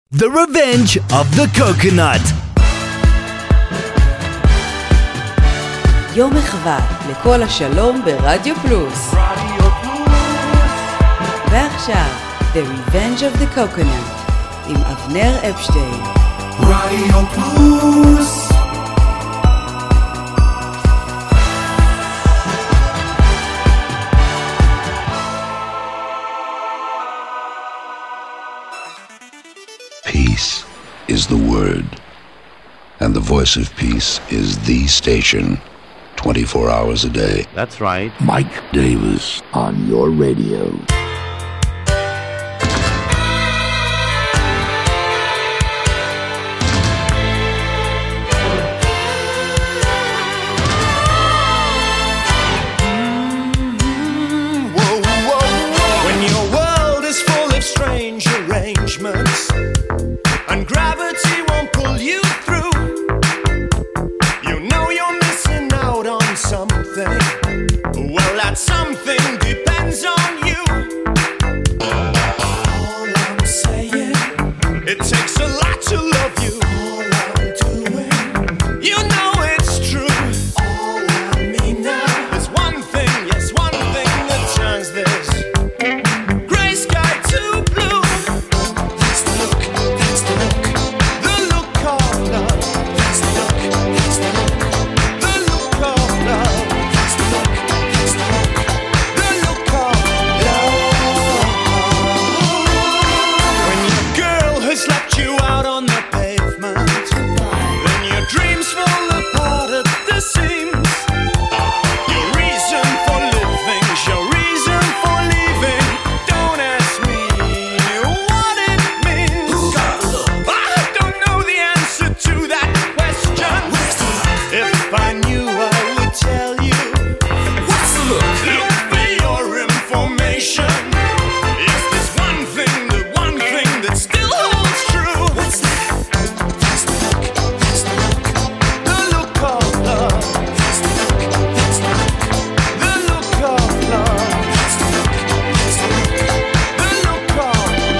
The Revenge of the Coconut. יום מחווה לכל השלום ברדיו פלוס. ועכשיו, The Revenge of the Coconut עם אבנר אפשטיין. רדיו פלוס. Peace is the word, and the voice of peace is the station, 24 hours a day. That's right. Mike Davis on your radio. When your world is full of strange arrangements and gravity won't pull you through, you know you're missing out on something. Well, that something depends on you. All I'm saying, it takes a lot to love you. All I'm doing, you know it's true. All I mean now is one thing, yes, one thing that turns this gray sky to blue. That's the look, that's the look, the look of love. That's the look, that's the look, the look of love. That's the look, that's the look, the look of love. When your girl has left you out on the pavement, then your dreams fall apart at the seams. Your reason for living, your reason for leaving. Don't ask me what it means. I don't know the answer to that question. If I knew, I would tell you. Look for your information. Is this one thing, the one thing that still holds true? That's the look, that's the look, the look of love. That's the look, that's the look, the look of love. That's the look, that's the look, the look of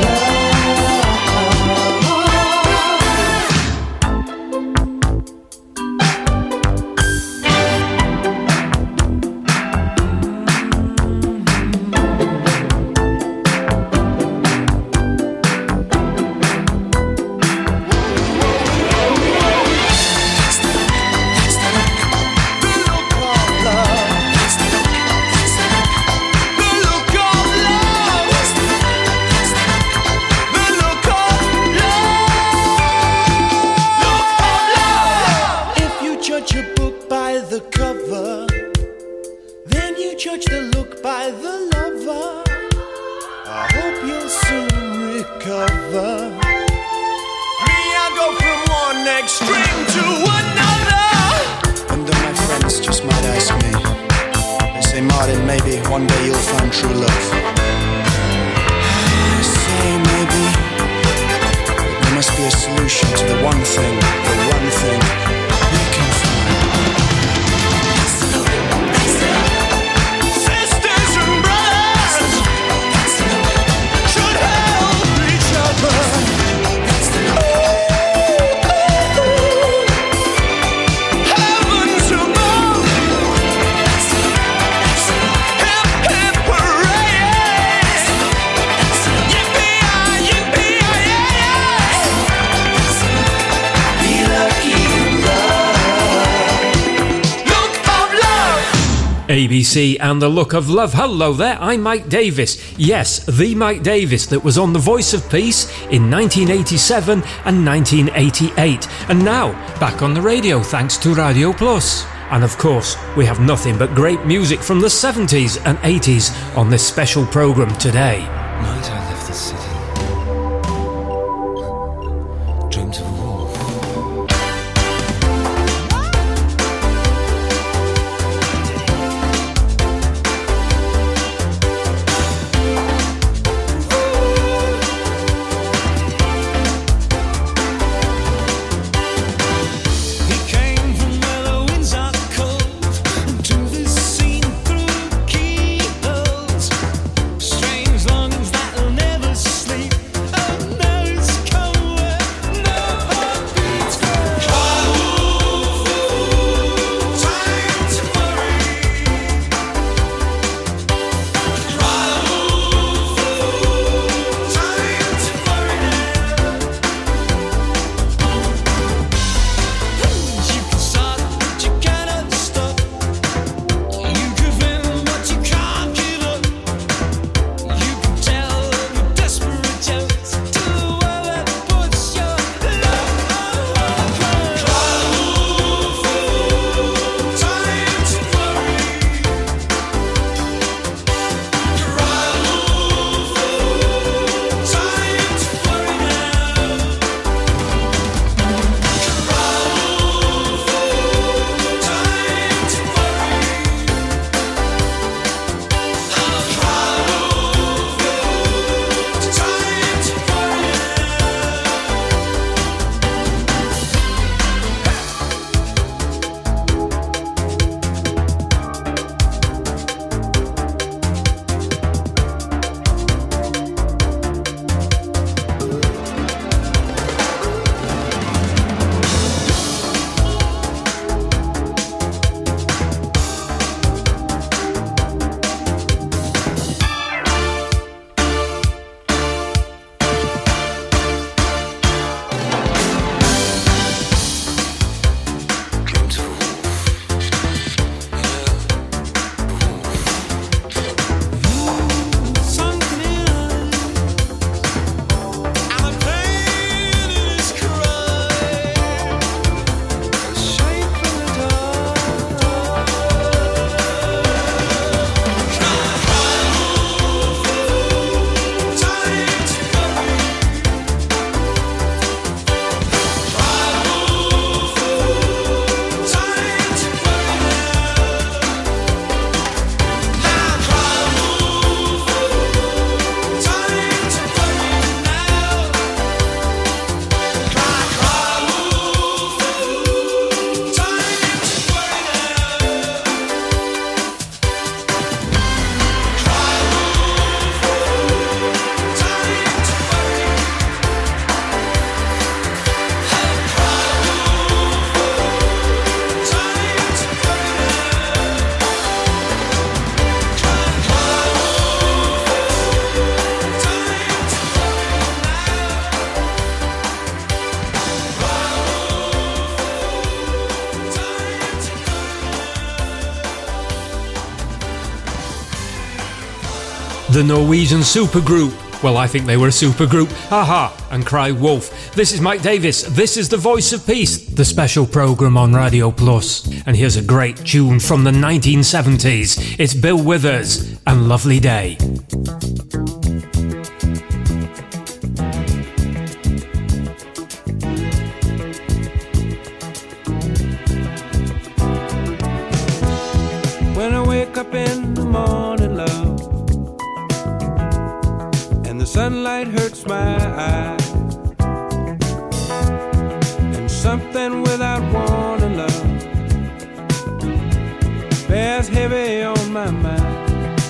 If you judge a book by the cover, then you judge the look by the lover. I hope you'll soon recover. Me, I go from one extreme to another. And then my friends just might ask me, they say, Martin, maybe one day you'll find true love. I say maybe, but there must be a solution to the one thing we can find. Sisters and brothers should help each other. Heavens above, hip hip hooray! Yippee-yi, yippee-yi-yi! Be lucky in love. Look of love. ABC and the Look of Love. Hello there, I'm Mike Davis. Yes, the Mike Davis that was on The Voice of Peace in 1987 and 1988. And now, back on the radio thanks to Radio Plus. And of course, we have nothing but great music from the 70s and 80s on this special programme today. Night I left the city. Dreamt of a wolf. He came from where the winds are cold, to the scene through keyholes. Strange longings that'll never sleep. Oh no, it's come The Norwegian supergroup. Well, I think they were a supergroup. Haha, and cry wolf. This is Mike Davis. This is The Voice of Peace, the special programme on Radio Plus. And here's a great tune from the 1970s. It's Bill Withers and Lovely Day. When I wake up in the morning, love, and the sunlight hurts my eyes, and something without warning, love, bears heavy on my mind.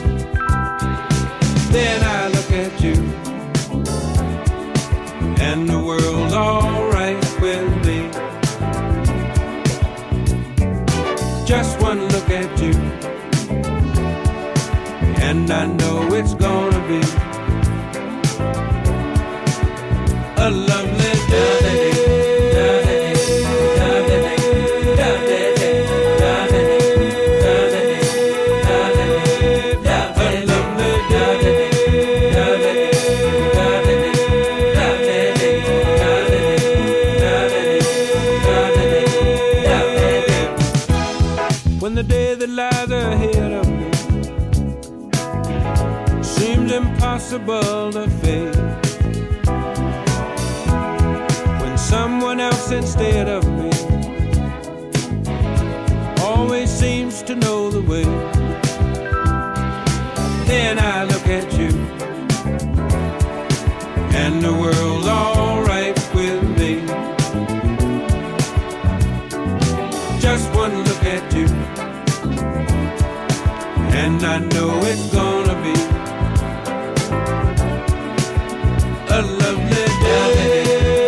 Then I look at you, and the world's alright with me. Just one look at you, and I know it's gonna be a lovely day. When the day that lies ahead of me seems impossible to face, when someone else instead of me always seems to know the way, then I look at you, and the world's alright with me. Just one look at you, and I know it's gonna be a lovely day.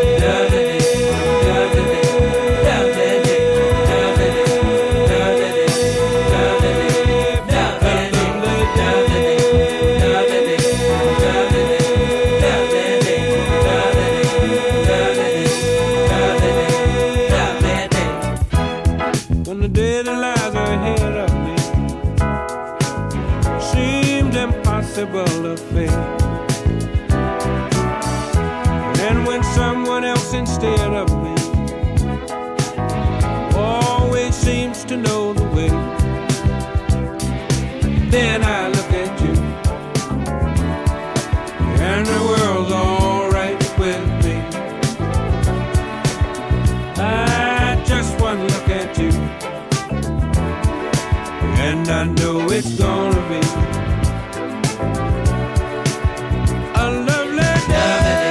When the day that lies ahead of me seemed impossible to face, and when someone else instead of me always seems to know the way, then I look at you, and the world's alright with me. I just one look at you, and I know it's gonna be a lovely day.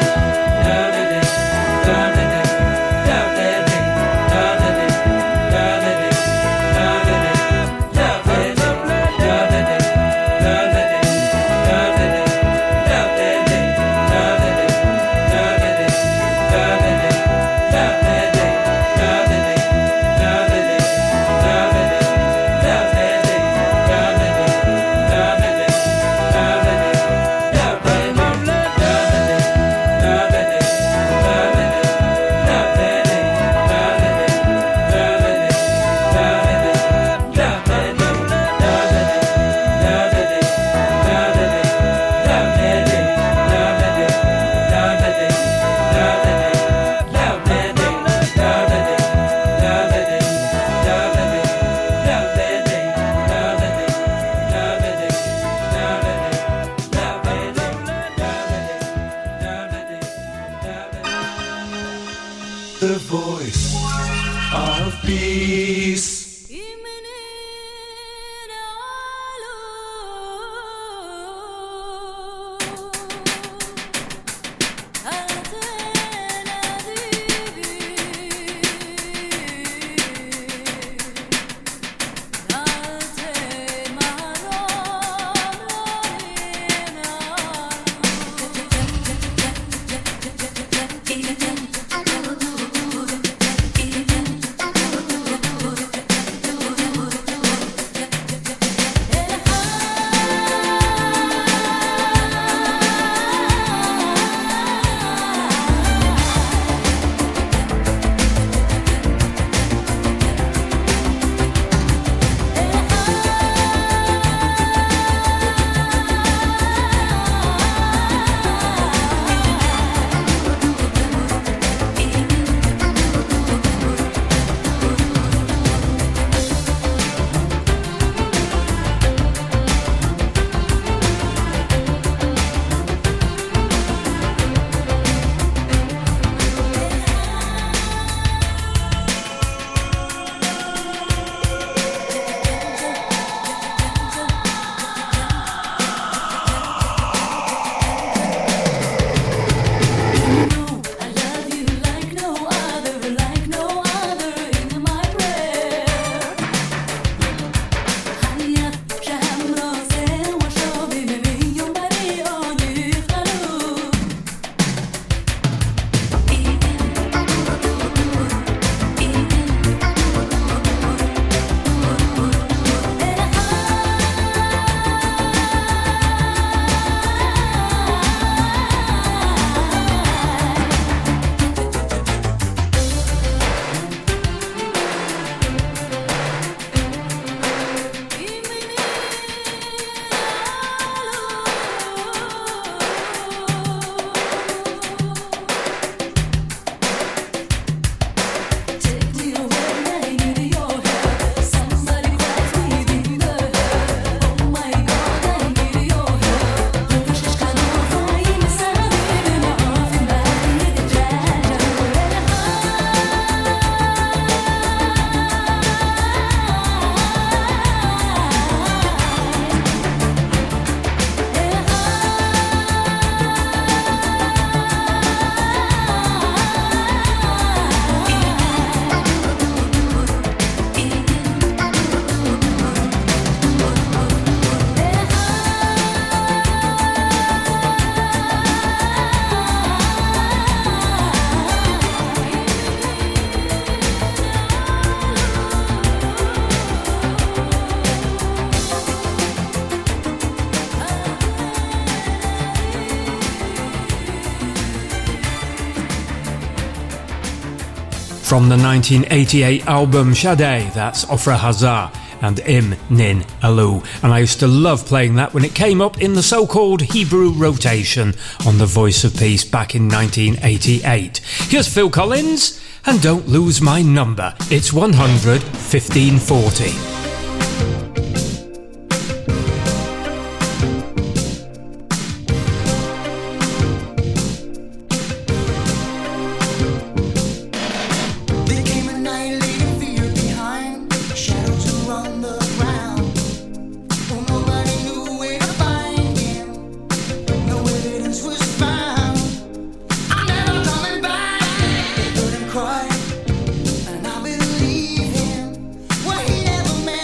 The voice of peace. From the 1988 album Sade, that's Ofra Hazar and Im Nin Alu. And I used to love playing that when it came up in the so-called Hebrew rotation on The Voice of Peace back in 1988. Here's Phil Collins, and Don't Lose My Number. It's 100 15 40. Cry, and I believe him. Well, he never meant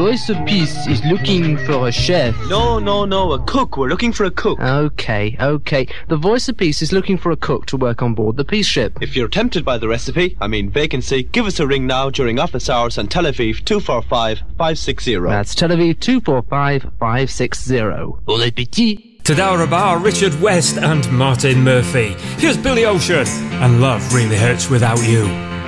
Voice of Peace is looking for a chef. No, a cook. We're looking for a cook. Okay. The Voice of Peace is looking for a cook to work on board the peace ship. If you're tempted by the recipe, vacancy, give us a ring now during office hours on Tel Aviv 245-560. That's Tel Aviv 245-560. Bon appétit! Tadara Bar, Richard West and Martin Murphy. Here's Billy Ocean and Love Really Hurts Without You.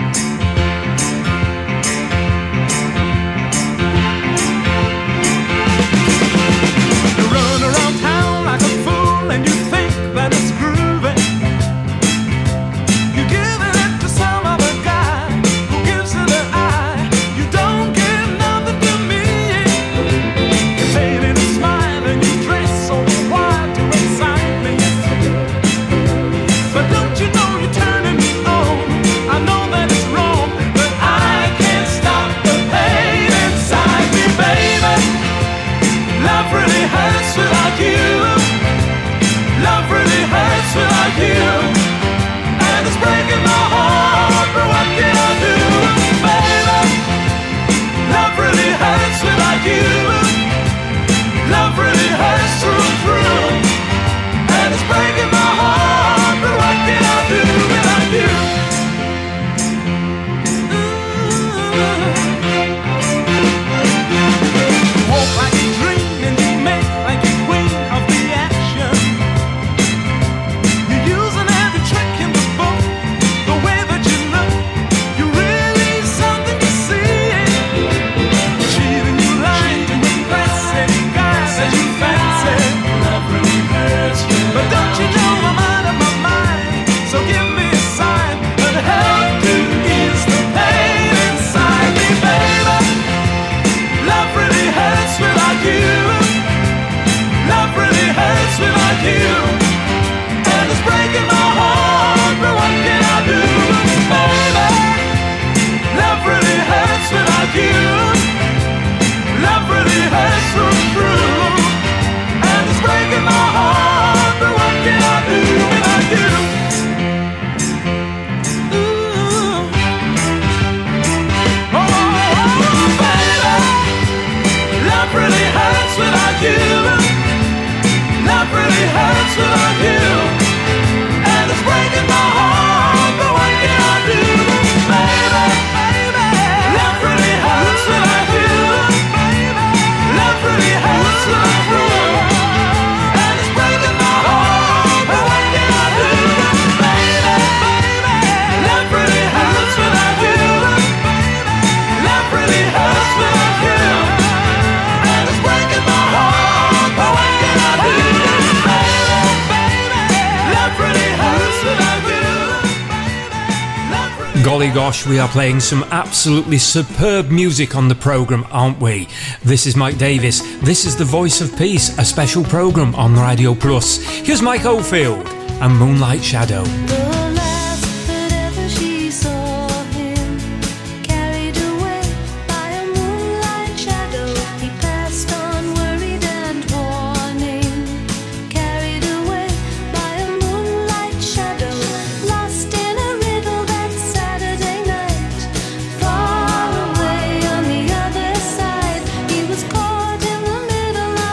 Golly gosh, we are playing some absolutely superb music on the programme, aren't we? This is Mike Davis. This is The Voice of Peace, a special programme on Radio Plus. Here's Mike Oldfield and Moonlight Shadow.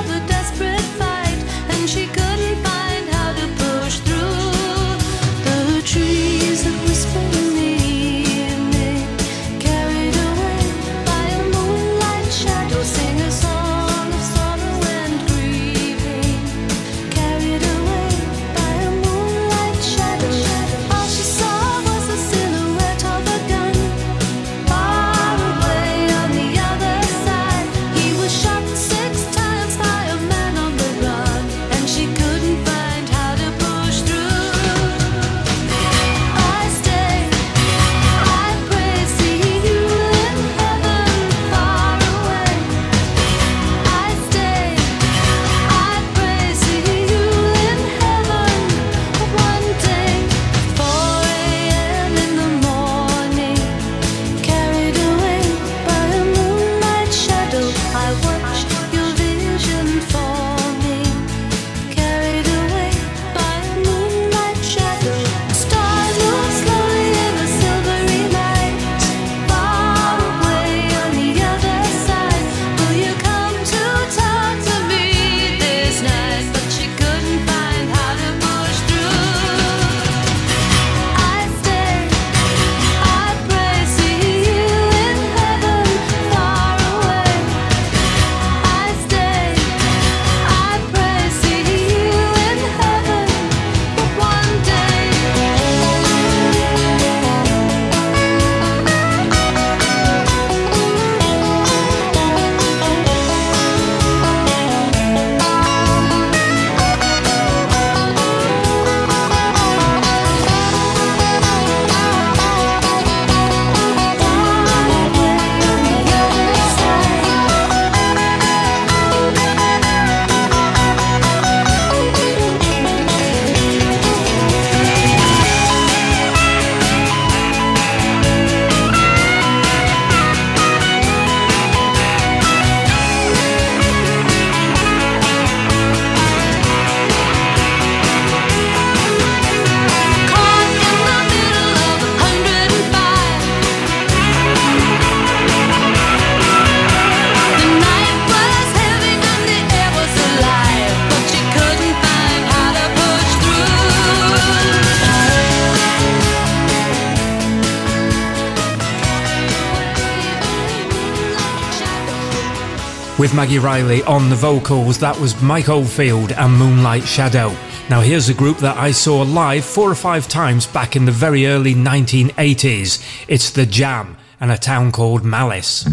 She couldn't find how to push through. With Maggie Riley on the vocals, that was Mike Oldfield and Moonlight Shadow. Now here's a group that I saw live 4 or 5 times back in the very early 1980s. It's The Jam and A Town Called Malice.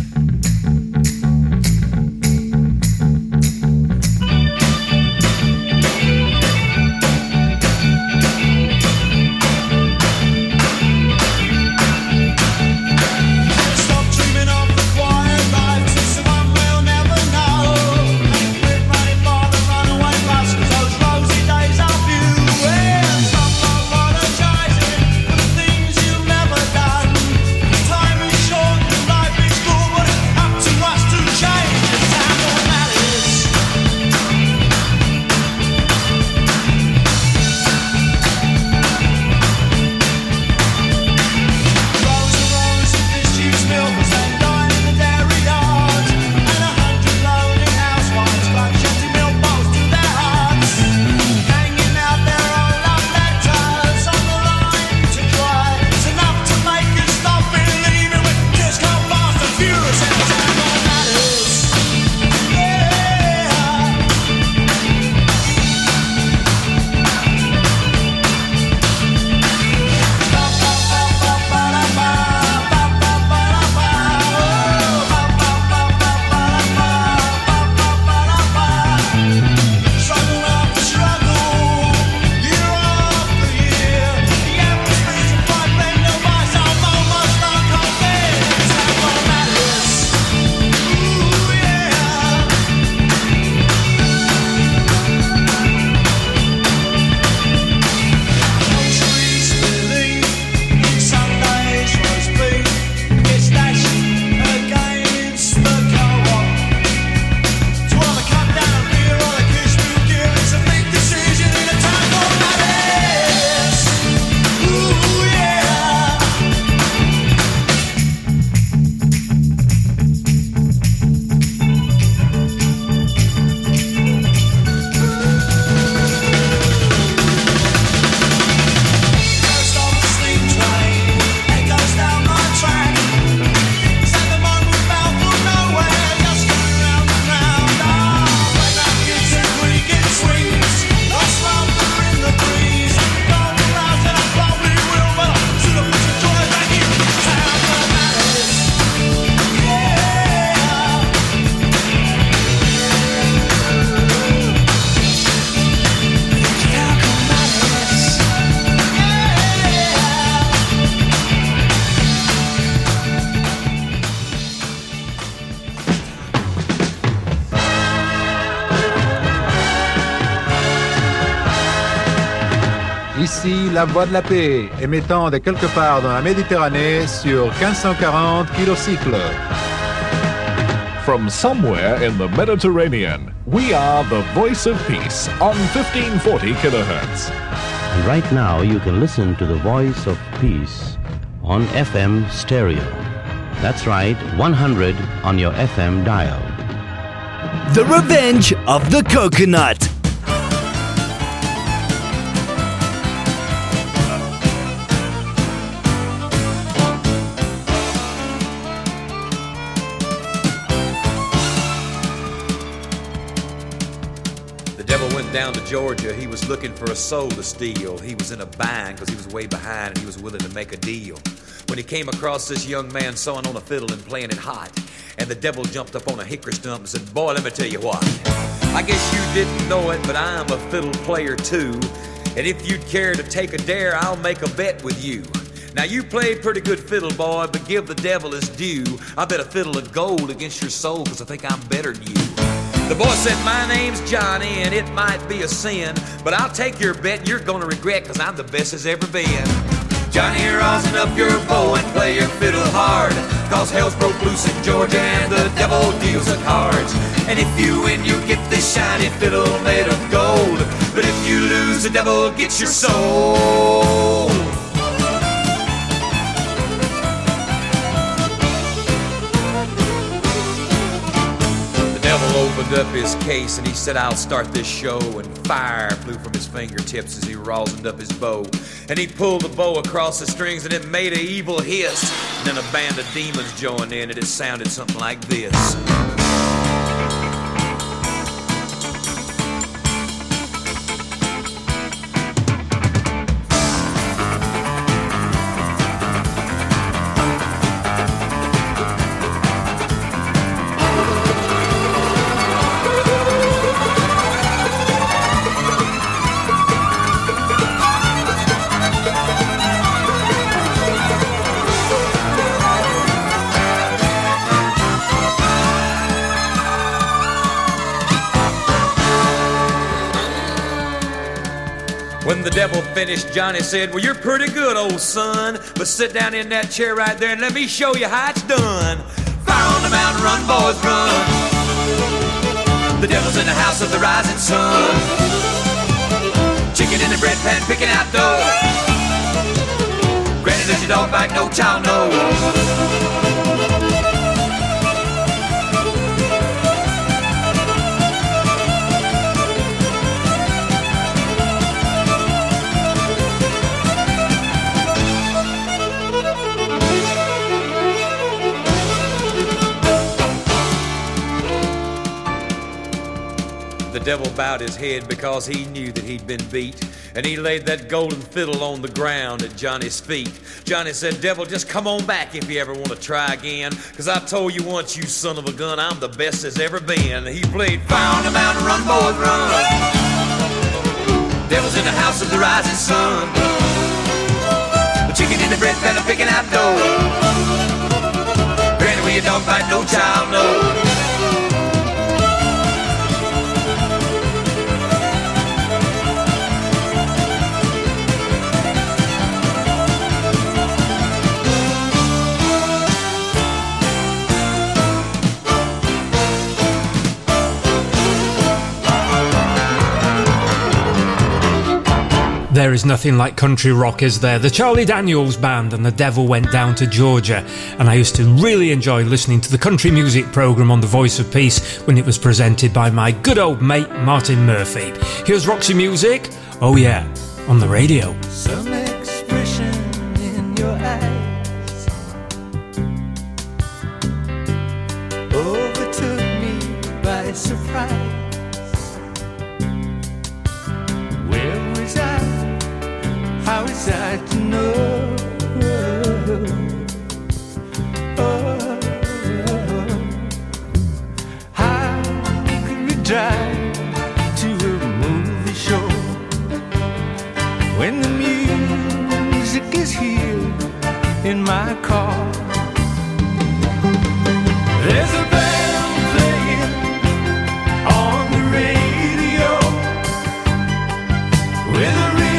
Ici, la Voix de la Paix, émettant de quelque part dans la Méditerranée sur 1540 kilocycles. From somewhere in the Mediterranean, we are the Voice of Peace on 1540 kilohertz. And right now you can listen to the Voice of Peace on FM stereo. That's right, 100 on your FM dial. The Revenge of the Coconut. Down to Georgia, he was looking for a soul to steal. He was in a bind because he was way behind and he was willing to make a deal. When he came across this young man sawing on a fiddle and playing it hot, and the devil jumped up on a hickory stump and said, "Boy, let me tell you what. I guess you didn't know it, but I'm a fiddle player too. And if you'd care to take a dare, I'll make a bet with you. Now you played pretty good fiddle, boy, but give the devil his due. I bet a fiddle of gold against your soul because I think I'm better than you." The boy said, "My name's Johnny, and it might be a sin, but I'll take your bet and you're gonna regret, cause I'm the best as ever been. Johnny, rosin up your bow and play your fiddle hard, cause hell's broke loose in Georgia and the devil deals the cards. And if you win, you get this shiny fiddle made of gold, but if you lose, the devil gets your soul." Opened up his case and he said, "I'll start this show," and fire flew from his fingertips as he rosined up his bow. And he pulled the bow across the strings and it made an evil hiss. And then a band of demons joined in and it sounded something like this. When the devil finished, Johnny said, well, you're pretty good, old son, but sit down in that chair right there and let me show you how it's done. Fire on the mountain, run, boys, run. The devil's in the house of the rising sun. Chicken in the bread pan, picking out dough. Granny, does your dog bite? No child knows. The devil bowed his head because he knew that he'd been beat, and he laid that golden fiddle on the ground at Johnny's feet. Johnny said, devil, just come on back if you ever want to try again, cause I told you once, you son of a gun, I'm the best there's ever been. He played Fire on the Mountain, run, boys, run. Devil's in the house of the rising sun. The chicken in the bread pan, picking out dough. Granny, where your dog bite, no child knows. There is nothing like country rock, is there? The Charlie Daniels Band and The Devil Went Down to Georgia. And I used to really enjoy listening to the country music programme on The Voice of Peace when it was presented by my good old mate Martin Murphy. Here's Roxy Music, oh yeah, on the radio. Some expression in your eyes overtook me by surprise. Where was I? How is I to know? How can we drive to a movie show when the music is here in my car? There's a band playing on the radio with a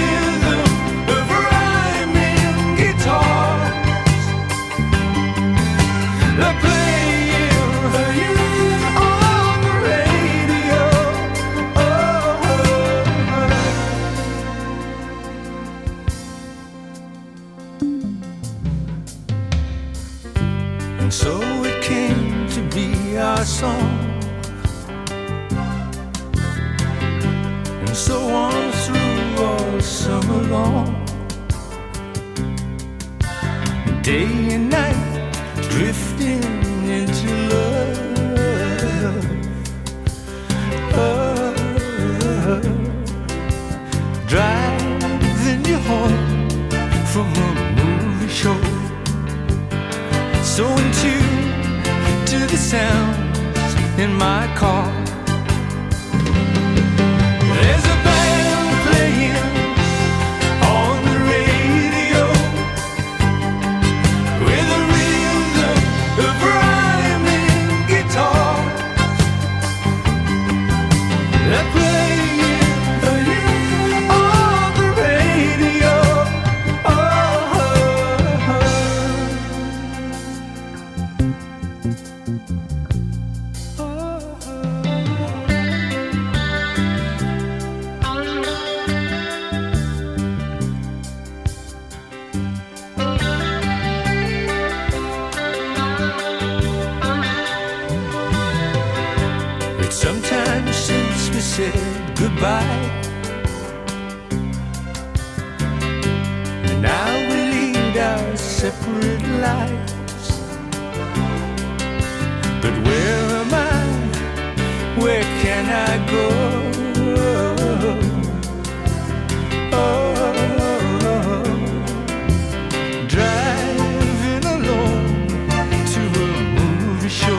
song, and so on through all summer long, day and night, drifting into love. Driving you home from a movie show, so in tune to the sound in my car. There's a band playing on the radio with a rhythm of rhyming guitars. They're playing on the radio. Sometimes since we said goodbye, and now we lead our separate lives. But where am I? Where can I go? Driving alone to a movie show,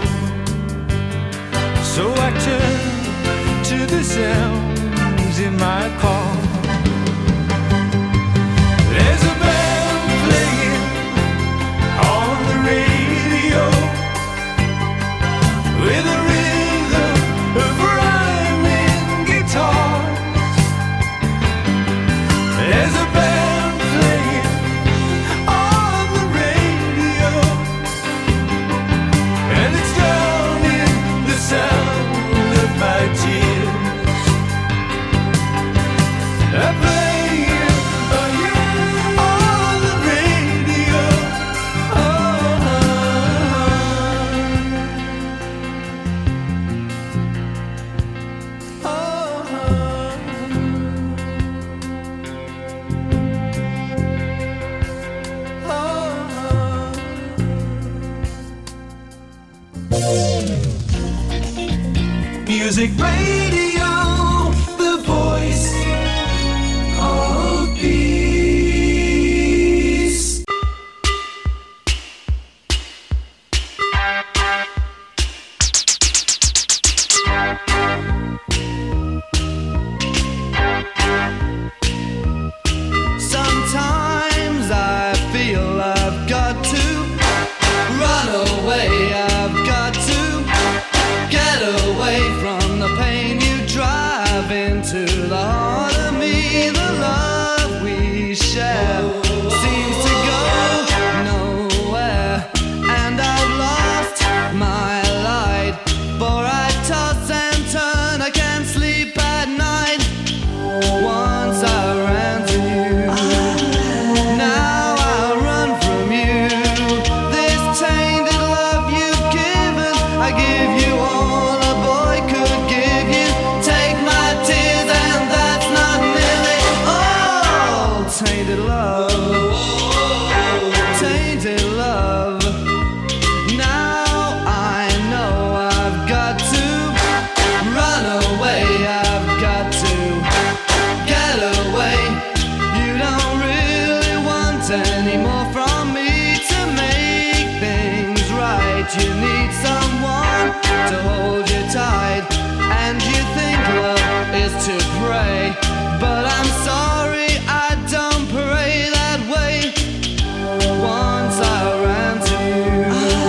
so I turn to the sounds in my car. There's a band playing on the radio with a rhythm of rhyming guitars. Music Radio, the voice of peace. Sometimes I feel I've got to run away. I've got to get away from the pain you drive into the heart of me. The love we share seems to go nowhere, and I've lost my light, for I toss and turn, I can't sleep at night. Once I ran to you, now I run from you. This tainted love you've given, I give you all a boy could give you. Take my tears and that's not nearly all. Tainted love, tainted love. Now I know I've got to run away. I've got to get away. You don't really want any more from me to make things right. You need someone to hold you tight, and you think love is to pray, but I'm sorry, I don't pray that way. Once I ran to you,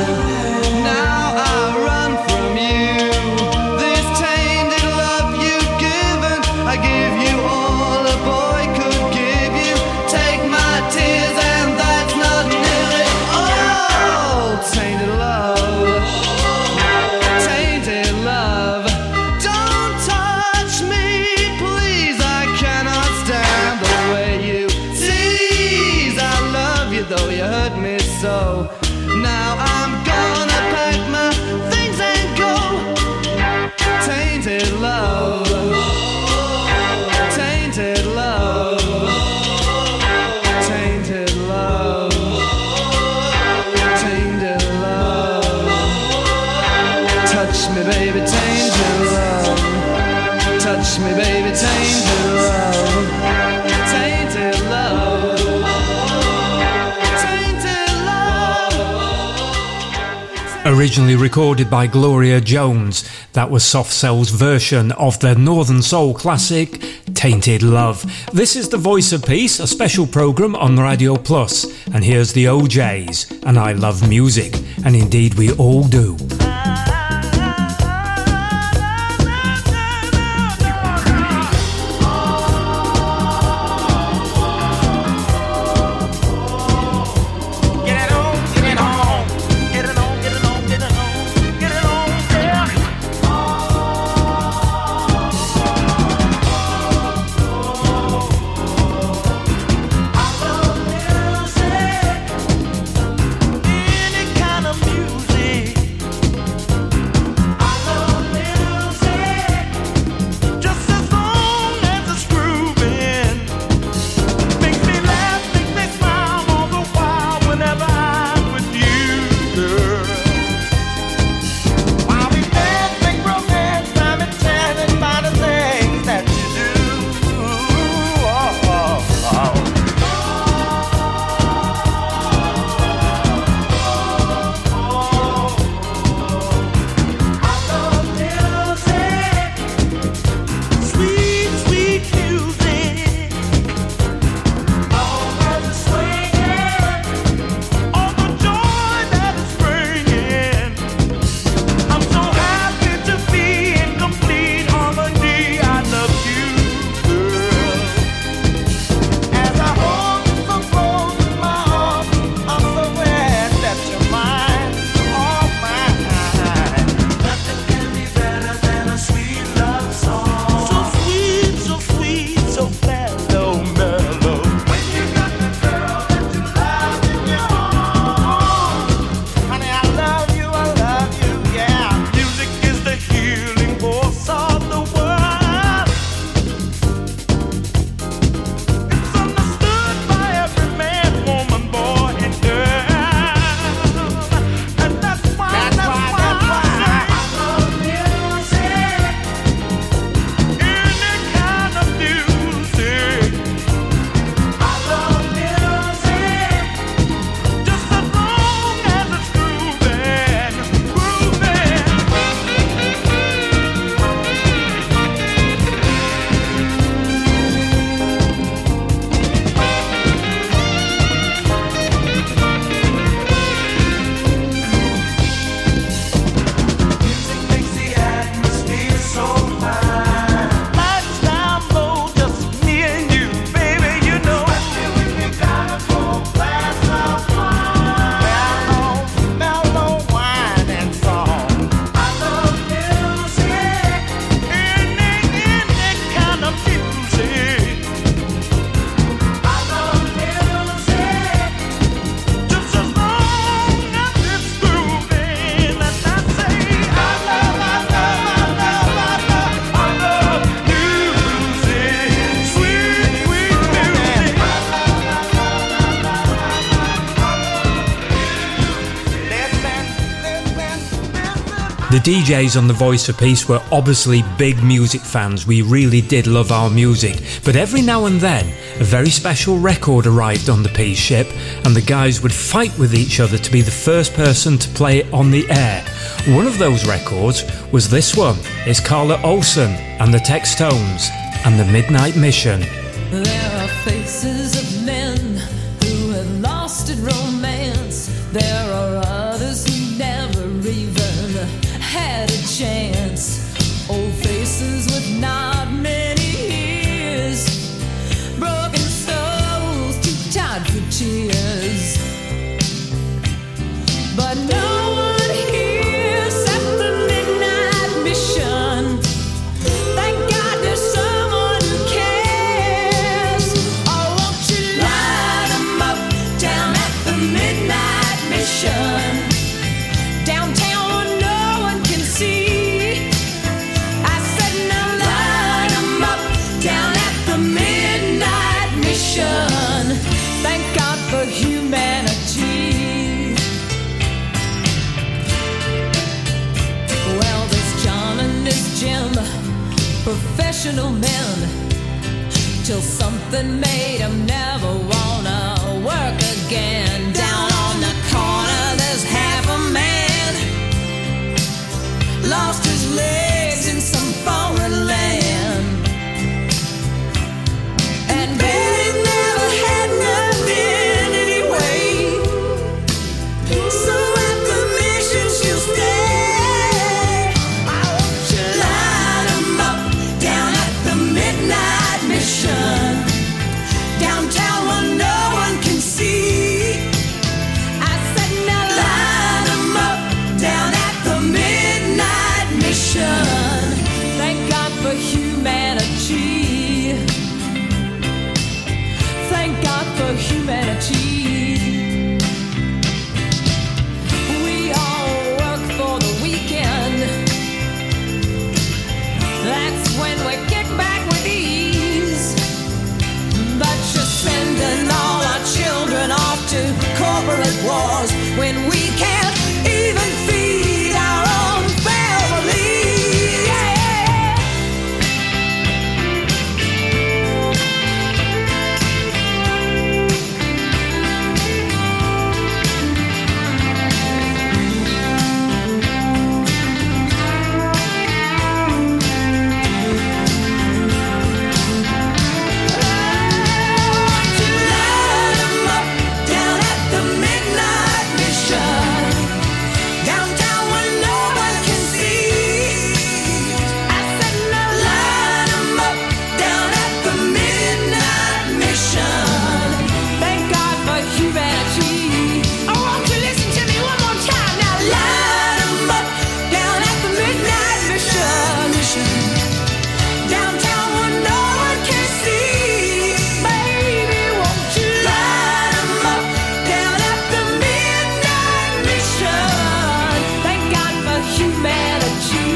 now I run from you. This tainted love you've given, I give you all a boy could give you. Take my tears and that's not nearly all. Tainted love, tainted love. Don't touch me, please, I cannot stand the way you tease. I love you though you hurt me so. Now I'm gonna pack my things and go. Tainted love, tainted love, tainted love, tainted love. Touch me, baby, tainted love. Touch me, baby, tainted love. Tainted love, tainted love. Originally recorded by Gloria Jones, that was Soft Cell's version of the Northern Soul classic Tainted Love. This is The Voice of Peace, a special programme on Radio Plus, and here's the OJs, and I love music, and indeed we all do. Any kind of music The DJs on The Voice of Peace were obviously big music fans. We really did love our music. But every now and then, a very special record arrived on the Peace ship, and the guys would fight with each other to be the first person to play it on the air. One of those records was this one. It's Carla Olson and the Textones and the Midnight Mission. There are faces of men who have lost at romance. There are others who never even had a chance. Old faces with not many years, broken souls too tired for tears. But no one hears at the Midnight Mission. Thank God there's someone who cares. Oh, won't you light 'em up down at the Midnight Mission? Downtown where no one can see. I said now light 'em up down at the Midnight Mission. Thank God for humanity. Well, there's John and there's Jim, professional men, till something made 'em never wanna work again. Down on the corner there's half a man, lost his legs in some foreign land, and Betty never had nothing anyway. So at the mission she'll stay. I want you light 'em up down at the Midnight Mission. Downtown where no one can see. I said now light 'em up down at the Midnight Mission. Thank God for humanity. Thank God for humanity. We all work for the weekend. That's when we kick back with ease. But you're sending all our children off to corporate wars when we can't even feed our own family. Light 'em up down at the Midnight Mission. Downtown where no one can see. I said now light 'em up down at the Midnight Mission. Thank God for humanity. I want you to listen to me one more time. Now light 'em up down at the Midnight Mission. Downtown where no one can see. Baby, won't you light 'em up down at the Midnight Mission? Thank God for humanity.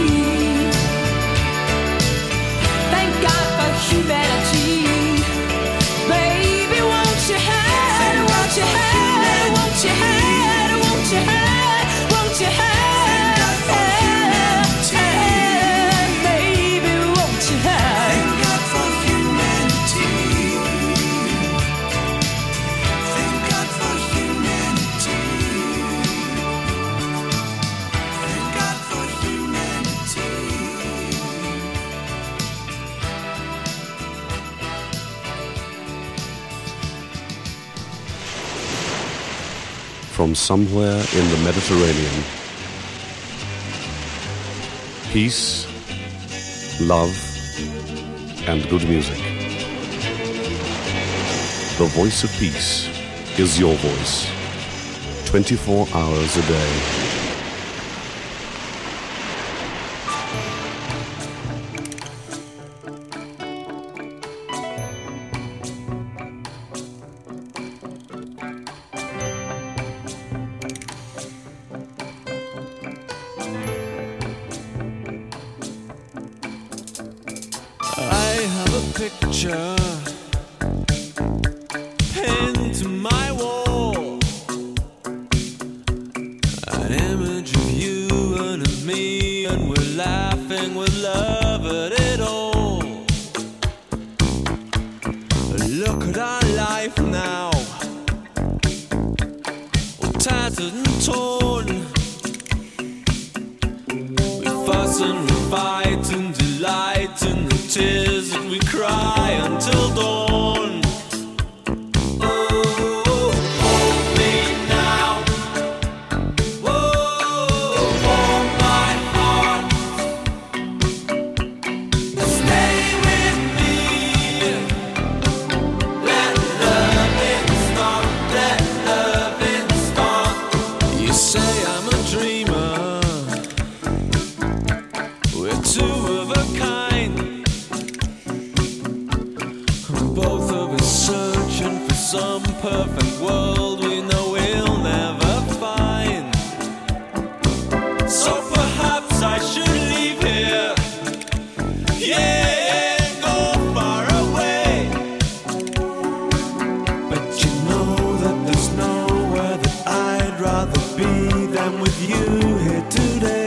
Thank God for humanity. Baby, won't you hide, won't you hide, won't you hide, won't you hide, won't you hide? Baby, won't you hide? Thank God for humanity. Thank God for humanity. Thank God for humanity. From somewhere in the Mediterranean, peace, love, and good music. The Voice of Peace is your voice, 24 hours a day. I have a picture pinned to my wall, an image of you and of me covered it all. Look at our life now, all tattered and torn. We fuss and we fight and delight in the tears that we cry until dawn. Some perfect world we know we'll never find. So perhaps I should leave here, yeah, and go far away. But you know that there's nowhere that I'd rather be than with you here today.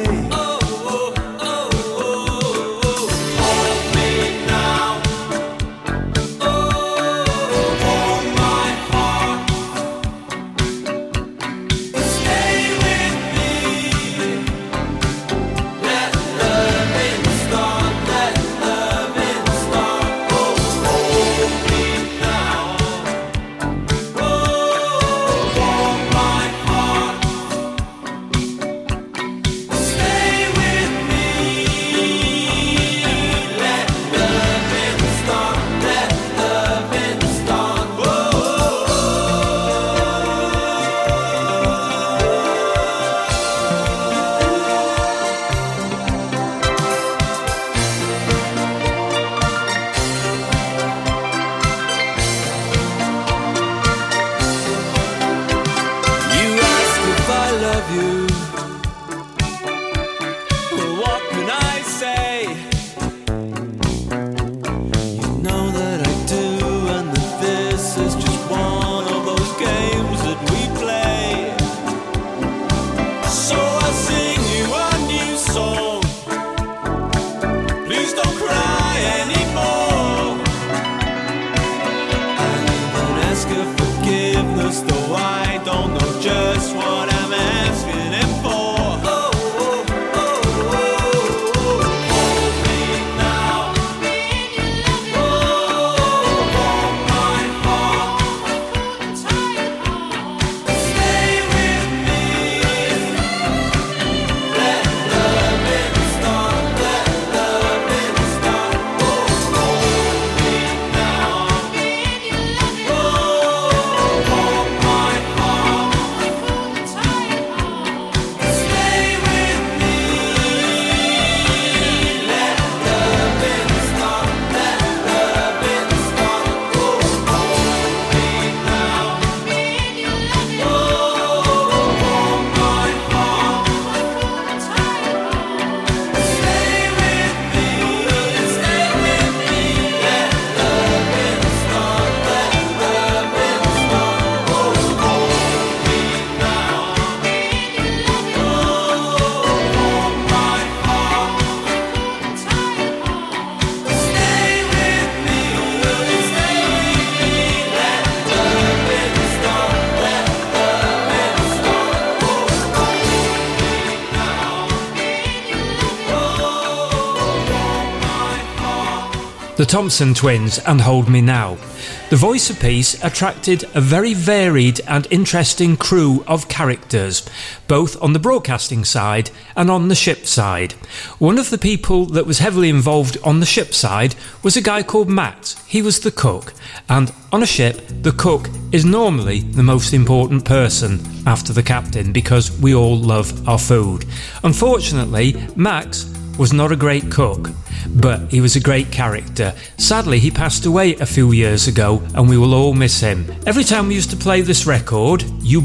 The Thompson Twins and Hold Me Now. The Voice of Peace attracted a very varied and interesting crew of characters, both on the broadcasting side and on the ship side. One of the people that was heavily involved on the ship side was a guy called Matt. He was the cook, and on a ship, the cook is normally the most important person after the captain because we all love our food. Unfortunately, Max was not a great cook, but he was a great character. Sadly, he passed away a few years ago and we will all miss him. Every time we used to play this record,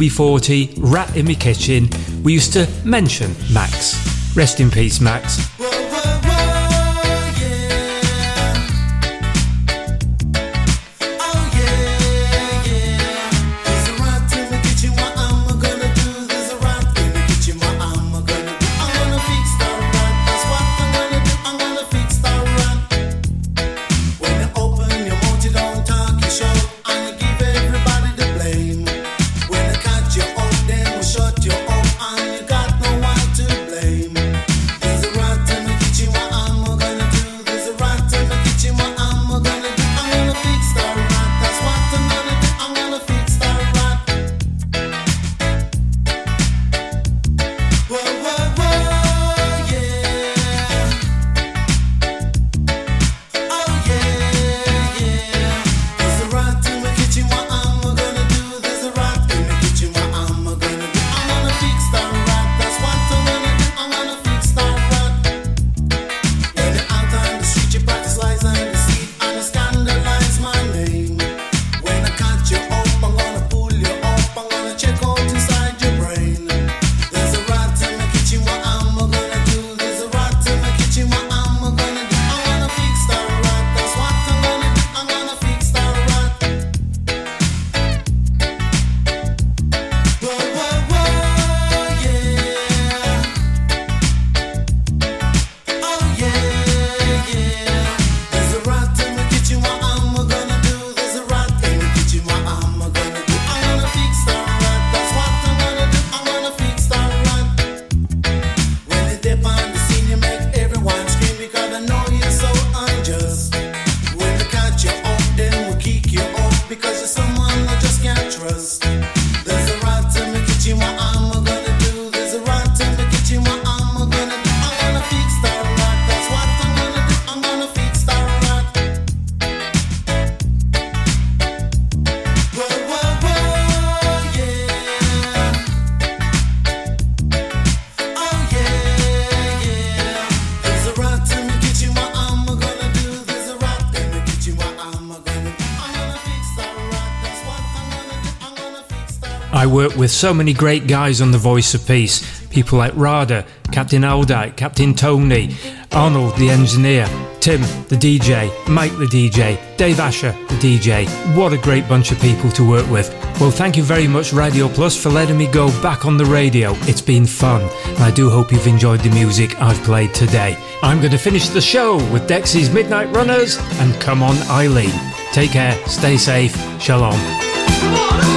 UB40, Rat in Me Kitchen, we used to mention Max. Rest in peace, Max. Start I work with so many great guys on The Voice of Peace. People like Rada, Captain Aldite, Captain Tony, Arnold the engineer, Tim the DJ, Mike the DJ, Dave Asher the DJ. What a great bunch of people to work with. Well, thank you very much Radio Plus for letting me go back on the radio. It's been fun, and I do hope you've enjoyed the music I've played today. I'm going to finish the show with Dexy's Midnight Runners and Come On Eileen. Take care, stay safe, shalom.